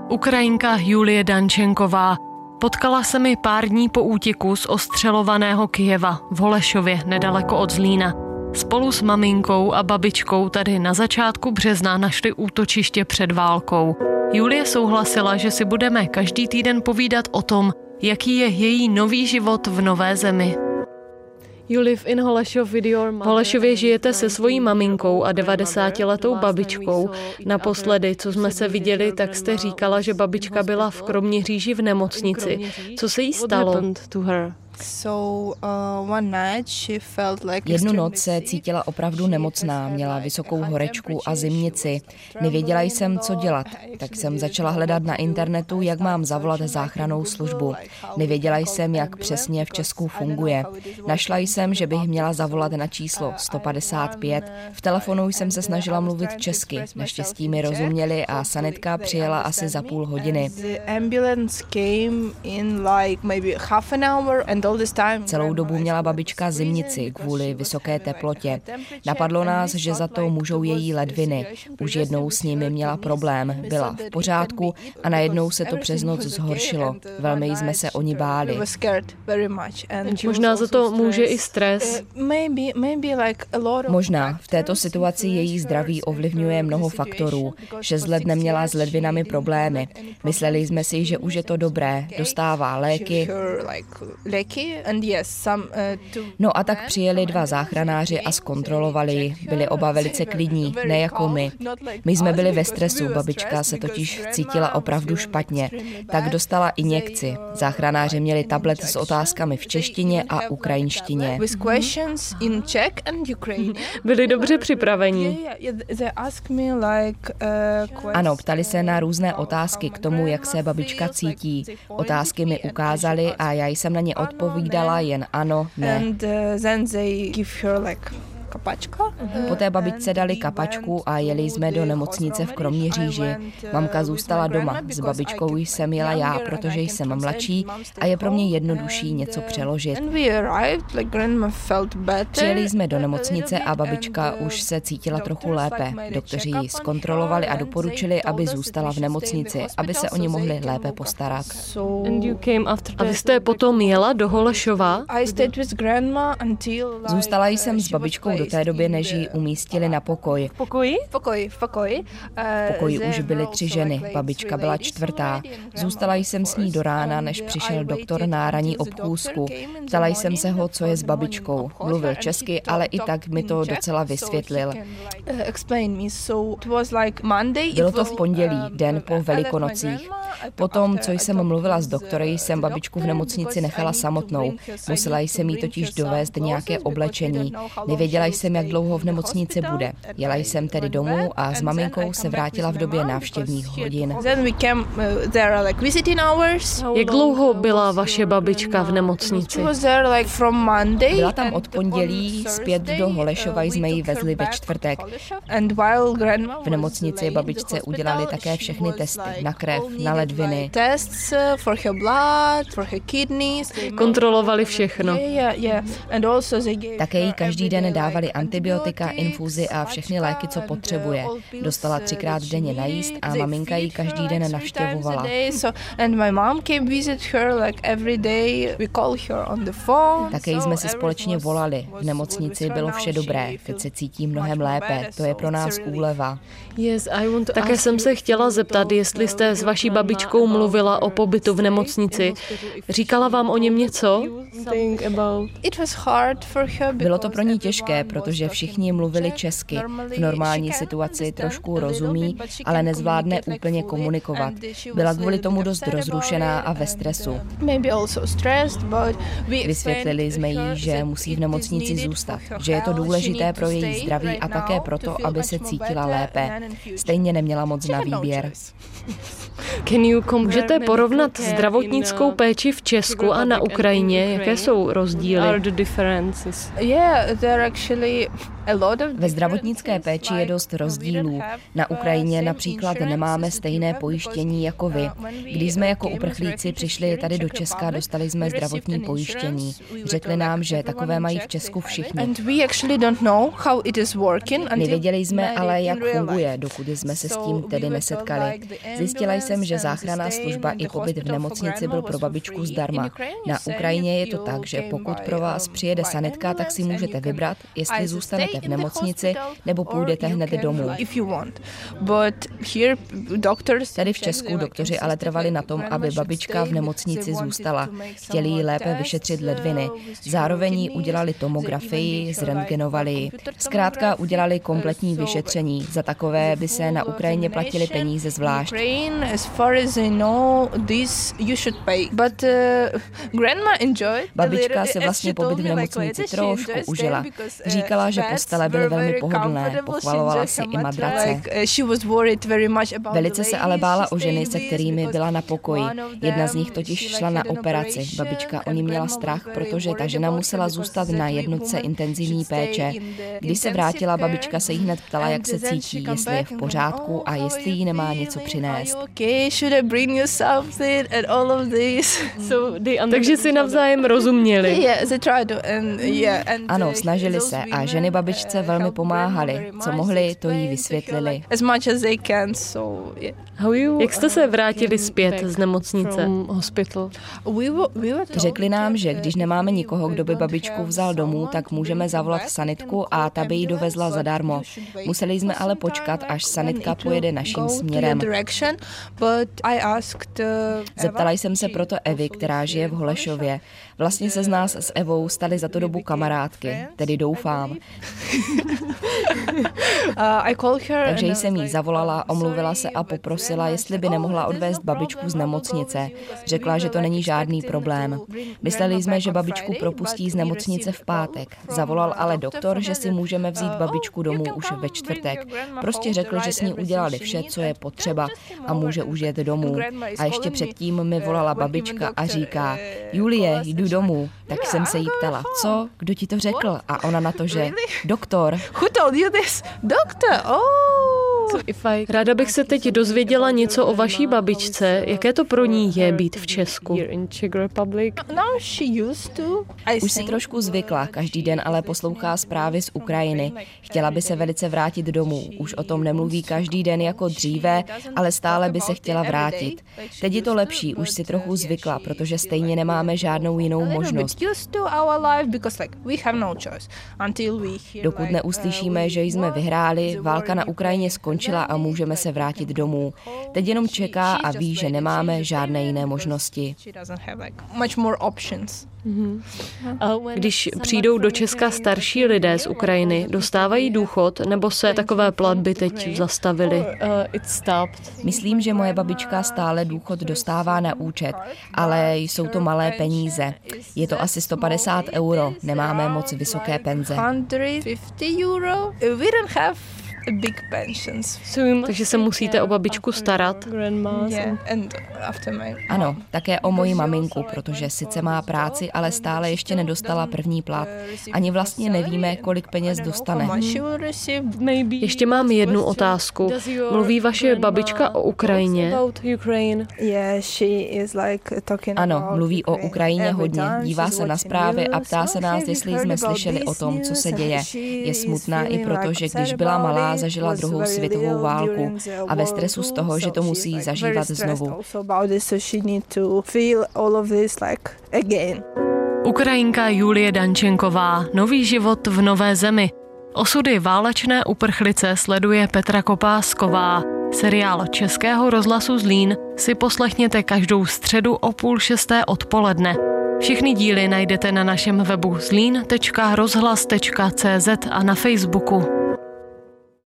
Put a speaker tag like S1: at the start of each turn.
S1: Ukrajinka Julie Dančenková. Potkala se mi pár dní po útěku z ostřelovaného Kyjeva v Holešově nedaleko od Zlína. Spolu s maminkou a babičkou tady na začátku března našli útočiště před válkou. Julie souhlasila, že si budeme každý týden povídat o tom, jaký je její nový život v nové zemi. V Holešově žijete se svojí maminkou a 90letou babičkou. Naposledy, co jsme se viděli, tak jste říkala, že babička byla v Kroměříži v nemocnici. Co se jí stalo?
S2: Jednu noc se cítila opravdu nemocná, měla vysokou horečku a zimnici. Nevěděla jsem, co dělat, tak jsem začala hledat na internetu, jak mám zavolat záchrannou službu. Nevěděla jsem, jak přesně v Česku funguje. Našla jsem, že bych měla zavolat na číslo 155. V telefonu jsem se snažila mluvit česky. Naštěstí mi rozuměli a sanitka přijela asi za půl hodiny. Celou dobu měla babička zimnici kvůli vysoké teplotě. Napadlo nás, že za to můžou její ledviny. Už jednou s nimi měla problém, byla v pořádku a najednou se to přes noc zhoršilo. Velmi jsme se o ní báli.
S1: Možná za to může i stres.
S2: Možná. V této situaci její zdraví ovlivňuje mnoho faktorů. 6 let neměla s ledvinami problémy. Mysleli jsme si, že už je to dobré. Dostává léky. No a tak přijeli 2 záchranáři a zkontrolovali ji. Byli oba velice klidní, ne jako my. My jsme byli ve stresu, babička se totiž cítila opravdu špatně. Tak dostala injekci. Záchranáři měli tablet s otázkami v češtině a ukrajinštině.
S1: Byli dobře připraveni.
S2: Ano, ptali se na různé otázky k tomu, jak se babička cítí. Otázky mi ukázali a já jsem na ně odpovídala jen ano, ne. Poté babičce dali kapačku a jeli jsme do nemocnice v Kroměříži. Mamka zůstala doma. S babičkou jsem jela já, protože jsem mladší a je pro mě jednodušší něco přeložit. Přijeli jsme do nemocnice a babička už se cítila trochu lépe. Doktoři ji zkontrolovali a doporučili, aby zůstala v nemocnici, aby se o ní mohli lépe postarat.
S1: A vy jste potom jela do Holešova?
S2: Zůstala jsem s babičkou do té doby, než ji umístili na pokoj. V pokoji už byly 3 ženy, babička byla 4. Zůstala jsem s ní do rána, než přišel doktor na ranní obchůzku. Ptala jsem se ho, co je s babičkou. Mluvil česky, ale i tak mi to docela vysvětlil. Bylo to v pondělí, den po Velikonocích. Potom, co jsem mluvila s doktory, jsem babičku v nemocnici nechala samotnou. Musela jsem jí totiž dovést nějaké oblečení. Nevěděla jsem, jak dlouho v nemocnici bude. Jela jsem tedy domů a s maminkou se vrátila v době návštěvních hodin.
S1: Jak dlouho byla vaše babička v nemocnici?
S2: Byla tam od pondělí, zpět do Holešova jsme ji vezli ve čtvrtek. V nemocnici babičce udělali také všechny testy na krev, na ledviny.
S1: Kontrolovali všechno.
S2: Také jí každý den dávali antibiotika, infuzi a všechny léky, co potřebuje. Dostala 3krát denně najíst a maminka ji každý den navštěvovala. Také jsme si společně volali. V nemocnici bylo vše dobré. Teď se cítí mnohem lépe. To je pro nás úleva.
S1: Také jsem se chtěla zeptat, jestli jste s vaší babičkou mluvila o pobytu v nemocnici. Říkala vám o něm něco?
S2: Bylo to pro ní těžké, protože všichni mluvili česky. V normální situaci trošku rozumí, ale nezvládne úplně komunikovat. Byla kvůli tomu dost rozrušená a ve stresu. Vysvětlili jsme jí, že musí v nemocnici zůstat, že je to důležité pro její zdraví a také proto, aby se cítila lépe. Stejně neměla moc na výběr.
S1: Můžete porovnat zdravotnickou péči v Česku a na Ukrajině? Jaké jsou rozdíly?
S2: Ve zdravotnické péči je dost rozdílů. Na Ukrajině například nemáme stejné pojištění jako vy. Když jsme jako uprchlíci přišli tady do Česka, dostali jsme zdravotní pojištění. Řekli nám, že takové mají v Česku všichni. Nevěděli jsme ale, jak funguje, dokud jsme se s tím tedy nesetkali. Zjistila jsem, že záchranná služba i pobyt v nemocnici byl pro babičku zdarma. Na Ukrajině je to tak, že pokud pro vás přijede sanitka, tak si můžete vybrat, jestli zůstanete v nemocnici nebo půjdete hned domů. Tady v Česku doktoři ale trvali na tom, aby babička v nemocnici zůstala. Chtěli jí lépe vyšetřit ledviny. Zároveň jí udělali tomografii, zrentgenovali ji. Zkrátka udělali kompletní vyšetření. Za takové by se na Ukrajině platili peníze zvlášť. Babička si vlastně pobyt v nemocnici trošku užila. Říkala, že postele byly velmi pohodlné, pochvalovala si i madrace. Velice se ale bála o ženy, se kterými byla na pokoji. Jedna z nich totiž šla na operaci. Babička o ní měla strach, protože ta žena musela zůstat na jednotce intenzivní péče. Když se vrátila, babička se jí hned ptala, jak se cítí, jestli je v pořádku a jestli jí nemá něco přinést.
S1: Takže si navzájem rozuměli.
S2: Ano, snažili se a ženy babičce velmi pomáhaly. Co mohli, to jí vysvětlili.
S1: Jak jste se vrátili zpět z nemocnice?
S2: Řekli nám, že když nemáme nikoho, kdo by babičku vzal domů, tak můžeme zavolat sanitku a ta by ji dovezla zadarmo. Museli jsme ale počkat, až sanitka pojede naším směrem. Zeptala jsem se proto Evy, která žije v Holešově. Vlastně se z nás s Evou staly za tu dobu kamarádky, tedy doufám. Takže jsem jí zavolala, omluvila se a poprosila, jestli by nemohla odvést babičku z nemocnice. Řekla, že to není žádný problém. Mysleli jsme, že babičku propustí z nemocnice v pátek. Zavolal ale doktor, že si můžeme vzít babičku domů už ve čtvrtek. Prostě řekl, že s ní udělali vše, co je potřeba a může už jet domů. A ještě předtím mi volala babička a říká: Julie, jdu domů. Tak jsem se jí ptala, co? Kdo ti to řekl? A ona na to, že doktor.
S1: Ráda bych se teď dozvěděla něco o vaší babičce. Jaké to pro ní je být v Česku?
S2: Už si trošku zvykla, každý den ale poslouchá zprávy z Ukrajiny. Chtěla by se velice vrátit domů. Už o tom nemluví každý den jako dříve, ale stále by se chtěla vrátit. Teď je to lepší, už si trochu zvykla, protože stejně nemáme žádnou jinou možnost. Dokud neuslyšíme, že jsme vyhráli, válka na Ukrajině skončila a můžeme se vrátit domů. Teď jenom čeká a ví, že nemáme žádné jiné možnosti.
S1: Když přijdou do Česka starší lidé z Ukrajiny, dostávají důchod, nebo se takové platby teď zastavily?
S2: Myslím, že moje babička stále důchod dostává na účet, ale jsou to malé peníze. Je to asi 150 €, nemáme moc vysoké penze.
S1: Takže se musíte o babičku starat.
S2: Ano, také o moji maminku, protože sice má práci, ale stále ještě nedostala první plat. Ani vlastně nevíme, kolik peněz dostane.
S1: Ještě mám jednu otázku. Mluví vaše babička o Ukrajině?
S2: Ano, mluví o Ukrajině hodně. Dívá se na zprávy a ptá se nás, jestli jsme slyšeli o tom, co se děje. Je smutná i proto, že když byla malá, zažila druhou světovou válku a ve stresu z toho, že to musí zažívat znovu.
S1: Ukrajinka Julie Dančenková, nový život v nové zemi. Osudy válečné uprchlice sleduje Petra Kopásková. Seriál Českého rozhlasu Zlín si poslechněte každou středu o 5:30 odpoledne. Všechny díly najdete na našem webu zlín.rozhlas.cz a na Facebooku.